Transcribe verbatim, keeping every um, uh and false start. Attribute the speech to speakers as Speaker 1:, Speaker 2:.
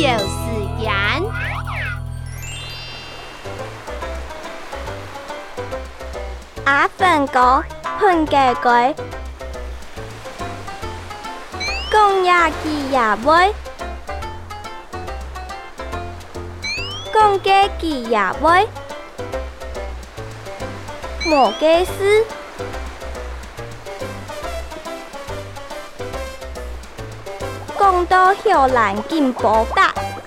Speaker 1: 时间。
Speaker 2: 阿粉哥喷个鬼，讲呀记呀尾，讲个记呀尾，莫个事。讲到后来进步达。